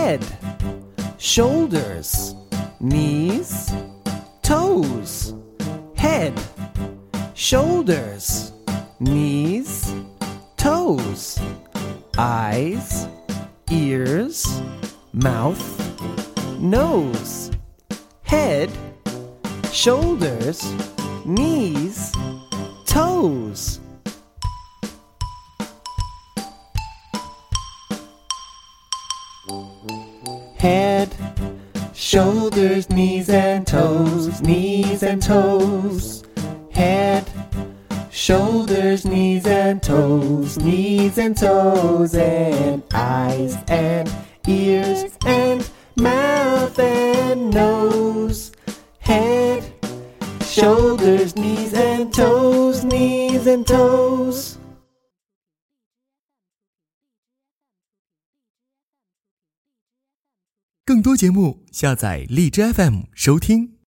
head, shoulders, knees, toes. Head, shoulders, knees, toes. Eyes, ears, mouth, nose. Head, shoulders, knees, toes. Head, shoulders, knees and toes, knees and toes. Head, shoulders, knees and toes, knees and toes. And eyes and ears and mouth and nose. Head, shoulders, knees and toes, knees and toes. 更多节目，下载荔枝 FM 收听。